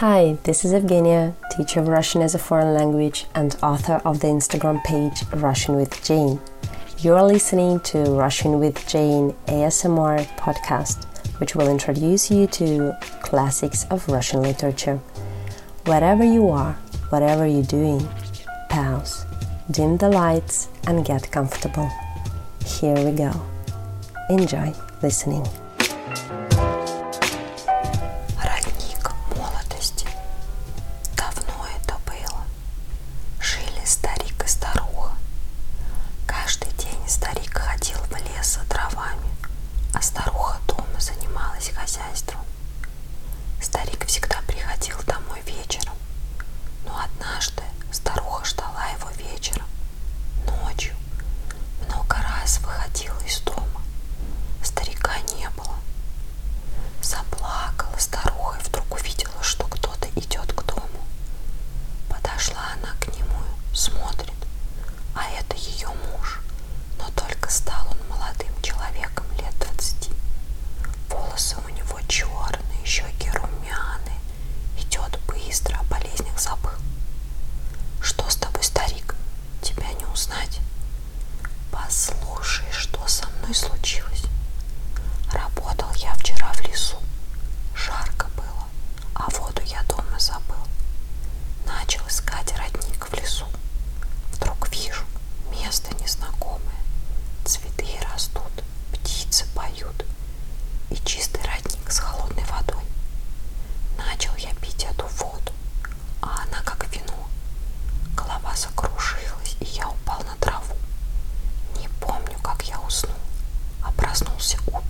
Hi, this is Evgenia, teacher of Russian as a foreign language and author of the Instagram page Russian with Jane. You're listening to Russian with Jane ASMR podcast, which will introduce you to classics of Russian literature. Wherever you are, whatever you're doing, pause, dim the lights and get comfortable. Here we go. Enjoy listening. Родник молодости. Давно это было. Жили старик и старуха. Каждый день старик ходил в лес за дровами, а старуха дома занималась хозяйством. Старик всегда приходил домой вечером, но однажды старуха ждала его вечером, ночью. Много раз выходила из дома. Старика не было. Заплакала старуха и вдруг увидела, что кто-то идет к дому. Подошла она к нему, смотрит, а это ее муж, но только стал он молодым человеком лет 20. Волосы у него черные, щеки румяные, идет быстро, о болезнях забыл. Что с тобой, старик? Тебя не узнать. Послушай, что со мной случилось. Работал я вчера в лесу. Жарко было, а воду я дома забыл. Начал искать родник в лесу. Вдруг вижу, место незнакомое. Цветы растут, птицы поют. И чистый родник с холодной водой. Начал я пить эту воду, а она как вино. Голова закружилась, и я упал на траву. Не помню, как я уснул, а проснулся утром.